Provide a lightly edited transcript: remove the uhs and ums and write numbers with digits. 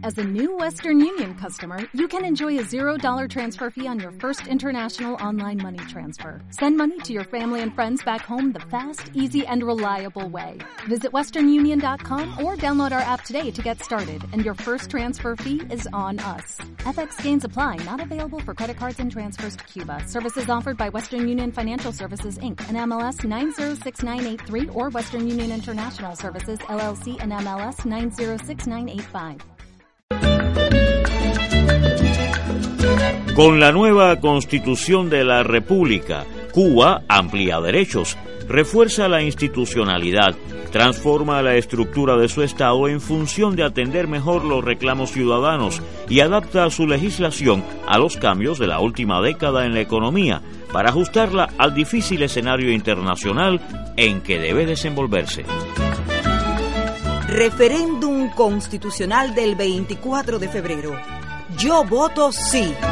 As a new Western Union customer, you can enjoy a $0 transfer fee on your first international online money transfer. Send money to your family and friends back home the fast, easy, and reliable way. Visit westernunion.com or download our app today to get started, and your first transfer fee is on us. FX gains apply, not available for credit cards and transfers to Cuba. Services offered by Western Union Financial Services, Inc., and MLS 906983, or Western Union International Services, LLC, and MLS 906985. Con la nueva Constitución de la República, Cuba amplía derechos, refuerza la institucionalidad, transforma la estructura de su Estado en función de atender mejor los reclamos ciudadanos y adapta su legislación a los cambios de la última década en la economía para ajustarla al difícil escenario internacional en que debe desenvolverse. Referéndum constitucional del 24 de febrero. Yo voto sí.